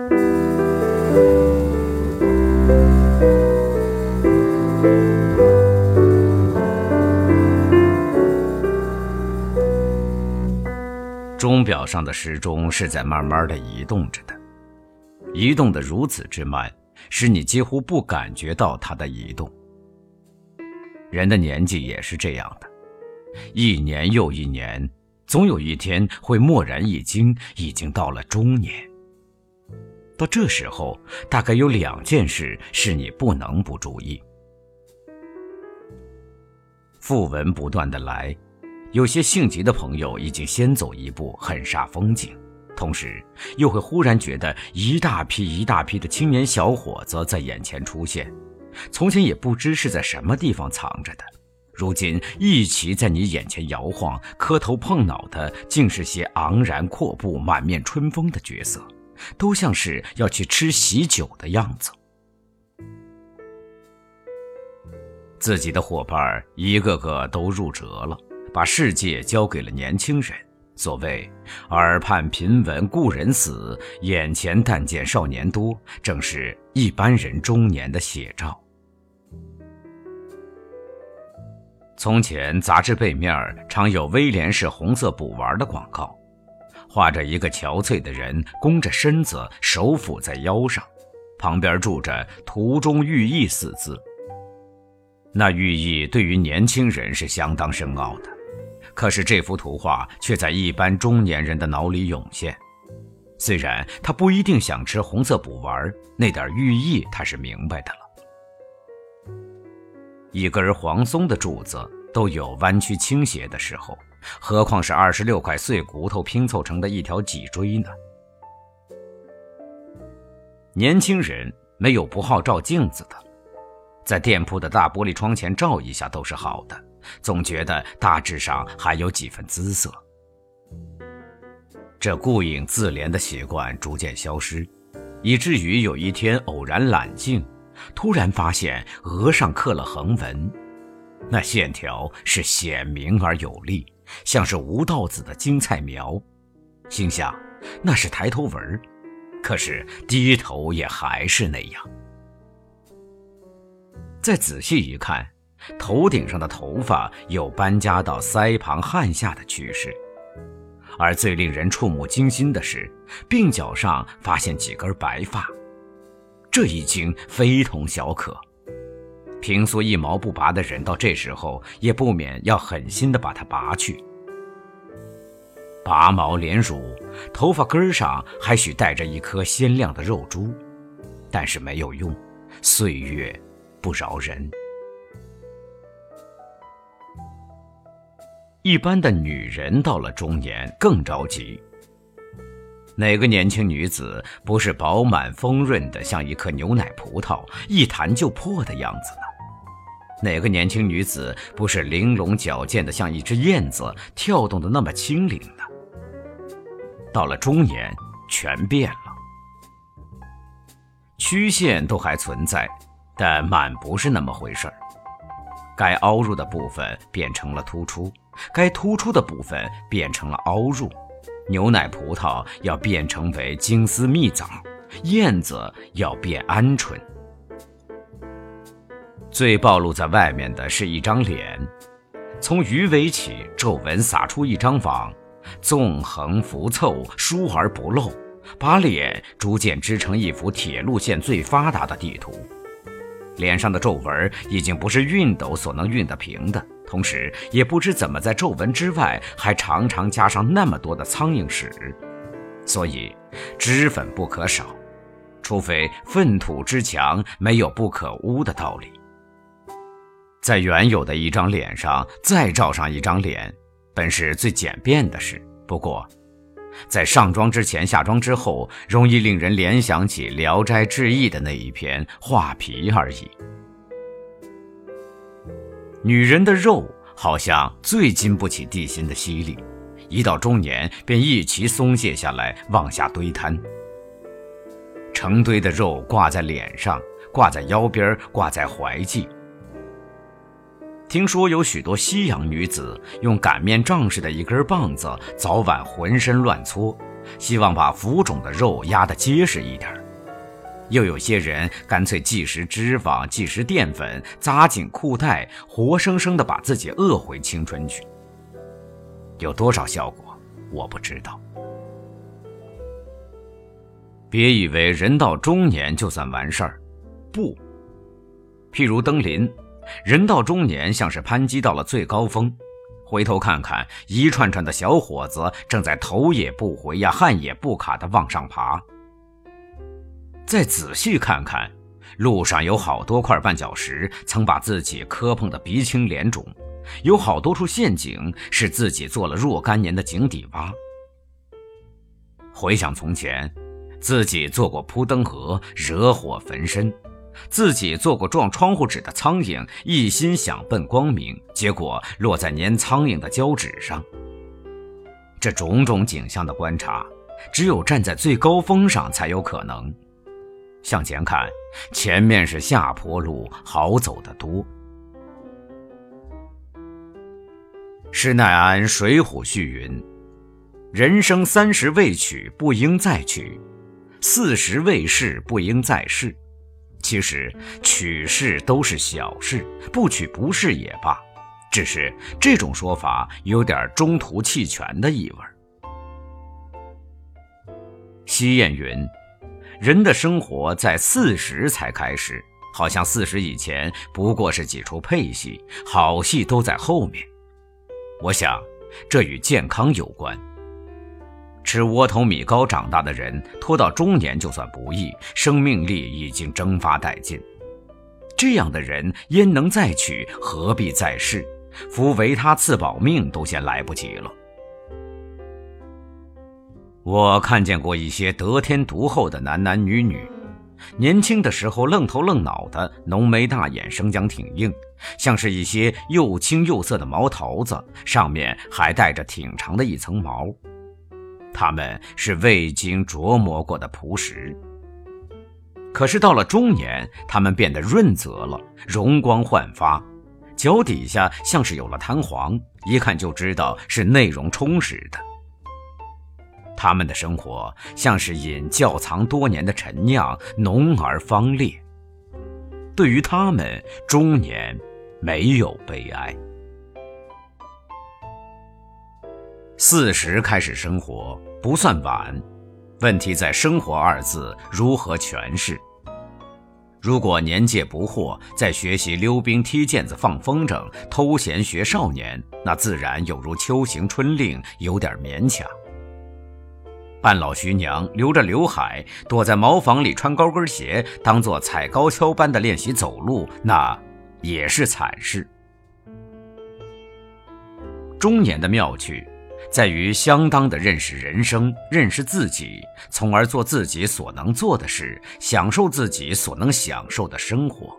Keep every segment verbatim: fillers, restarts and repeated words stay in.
钟表上的时钟是在慢慢的移动着的，移动得如此之慢，使你几乎不感觉到它的移动。人的年纪也是这样的，一年又一年，总有一天会蓦然一惊，已经到了中年。到这时候，大概有两件事是你不能不注意。讣文不断的来，有些性急的朋友已经先走一步，很煞风景，同时又会忽然觉得一大批一大批的青年小伙子在眼前出现，从前也不知是在什么地方藏着的，如今一齐在你眼前摇晃，磕头碰脑的竟是些昂然阔步满面春风的角色，都像是要去吃喜酒的样子。自己的伙伴一个个都入辙了，把世界交给了年轻人。所谓耳畔频闻故人死，眼前但见少年多，正是一般人中年的写照。从前杂志背面常有威廉士红色补丸的广告，画着一个憔悴的人弓着身子，手抚在腰上，旁边住着图中寓意四字。那寓意对于年轻人是相当深奥的，可是这幅图画却在一般中年人的脑里涌现。虽然他不一定想吃红色补丸，那点寓意他是明白的了。一根黄松的柱子都有弯曲倾斜的时候，何况是二十六块碎骨头拼凑成的一条脊椎呢？年轻人没有不好照镜子的，在店铺的大玻璃窗前照一下都是好的，总觉得大致上还有几分姿色。这顾影自怜的习惯逐渐消失，以至于有一天偶然揽镜，突然发现额上刻了横纹，那线条是显明而有力，像是吴道子的金菜苗，心想那是抬头纹，可是低头也还是那样。再仔细一看，头顶上的头发有搬家到腮旁汗下的趋势，而最令人触目惊心的是，鬓角上发现几根白发，这已经非同小可。平素一毛不拔的人到这时候也不免要狠心地把它拔去。拔毛连乳，头发根上还许带着一颗鲜亮的肉珠，但是没有用，岁月不饶人。一般的女人到了中年更着急。哪个年轻女子不是饱满丰润的像一颗牛奶葡萄，一弹就破的样子呢？哪个年轻女子不是玲珑矫健的像一只燕子，跳动的那么轻灵呢？到了中年全变了，曲线都还存在，但满不是那么回事儿。该凹入的部分变成了突出，该突出的部分变成了凹入。牛奶葡萄要变成为金丝蜜枣，燕子要变鹌鹑。最暴露在外面的是一张脸，从鱼尾起皱纹撒出一张网，纵横浮凑，疏而不漏，把脸逐渐织成一幅铁路线最发达的地图。脸上的皱纹已经不是熨斗所能熨得平的，同时也不知怎么在皱纹之外还常常加上那么多的苍蝇屎，所以脂粉不可少，除非粪土之墙没有不可污的道理。在原有的一张脸上再罩上一张脸，本是最简便的事，不过在上妆之前下妆之后，容易令人联想起《聊斋志异》的那一篇画皮而已。女人的肉好像最经不起地心的吸力，一到中年便一齐松懈下来，往下堆摊。成堆的肉挂在脸上，挂在腰边，挂在怀际。听说有许多西洋女子用擀面杖似的一根棒子，早晚浑身乱搓，希望把浮肿的肉压得结实一点。 又有些人干脆即食脂肪，即食淀粉，扎紧裤带，活生生地把自己饿回青春去。有多少效果，我不知道。别以为人到中年就算完事儿，不。譬如登临，人到中年像是攀击到了最高峰，回头看看，一串串的小伙子正在头也不回呀，汗也不卡地往上爬。再仔细看看，路上有好多块绊脚石曾把自己磕碰得鼻青脸肿，有好多处陷阱是自己做了若干年的井底蛙。回想从前，自己做过扑灯河，惹火焚身，自己做过撞窗户纸的苍蝇，一心想奔光明，结果落在粘苍蝇的胶纸上。这种种景象的观察，只有站在最高峰上才有可能。向前看，前面是下坡路，好走得多。施耐庵《水浒》序云：人生三十未娶，不应再娶；四十未逝，不应再试。其实娶是都是小事，不娶不是也罢，只是这种说法有点中途弃权的意味。西谚云：人的生活在四十才开始，好像四十以前不过是几出配戏，好戏都在后面。我想这与健康有关。吃窝头米糕长大的人，拖到中年就算不易，生命力已经蒸发殆尽。这样的人焉能再娶，何必再试？扶维他赐保命都先来不及了。我看见过一些得天独厚的男男女女，年轻的时候愣头愣脑的，浓眉大眼，生姜挺硬，像是一些又青又涩的毛桃子，上面还带着挺长的一层毛。他们是未经琢磨过的朴实。可是到了中年，他们变得润泽了，容光焕发，脚底下像是有了弹簧，一看就知道是内容充实的。他们的生活像是饮窖藏多年的陈酿，浓而芳烈。对于他们，中年没有悲哀。四十开始生活不算晚，问题在生活二字如何诠释。如果年届不惑，在学习溜冰、踢毽子、放风筝、偷闲学少年，那自然有如秋行春令，有点勉强。半老徐娘留着刘海，躲在茅房里穿高跟鞋，当作踩高跷般的练习走路，那也是惨事。中年的妙趣在于相当的认识人生，认识自己，从而做自己所能做的事，享受自己所能享受的生活。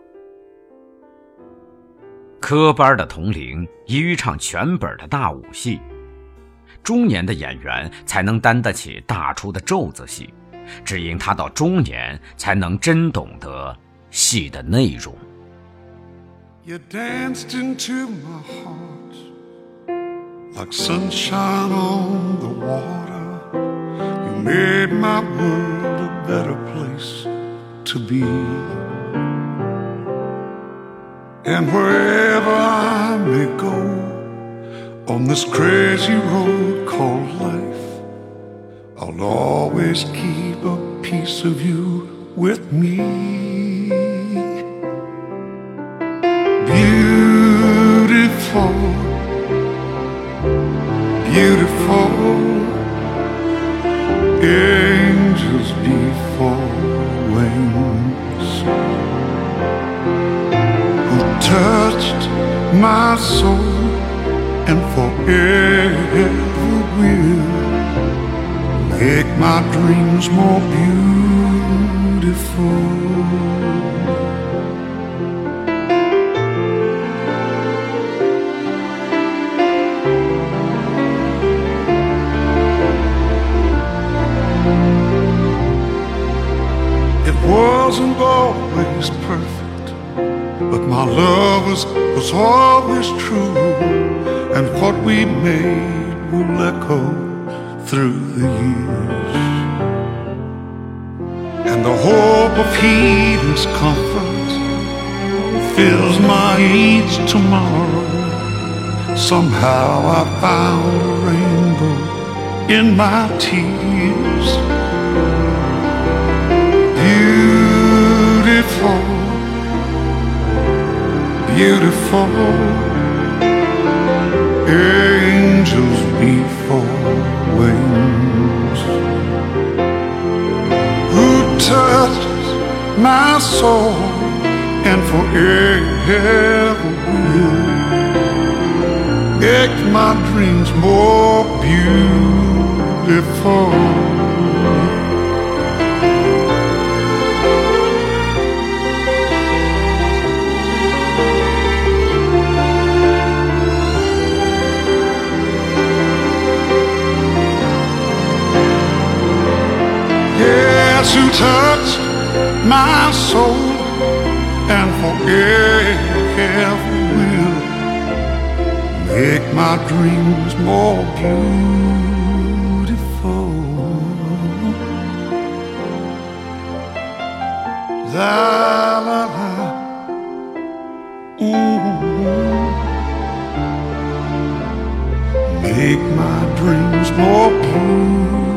科班的童龄宜于唱全本的大武戏，中年的演员才能担得起大出的咒子戏，只因他到中年才能真懂得戏的内容。 You danced into my heart like sunshine on the water. You made my world a better place to be. And wherever I may go on this crazy road called life, I'll always keep a piece of you with me. Beautiful, beautiful, angels before wings, who touched my soul and forever will make my dreams more beautiful. It wasn't always perfect, but my love was, was always true, and what we made will echo through the years. And the hope of heedless comfort fills my each tomorrow. Somehow I found a rainbow in my tears. Beautiful, beautiful, angels before wings, who touches my soul and forever will make my dreams more beautiful. Yes, who touched my soul and forever will make my dreams more beautiful. La la la, mm-hmm. Make my dreams more beautiful.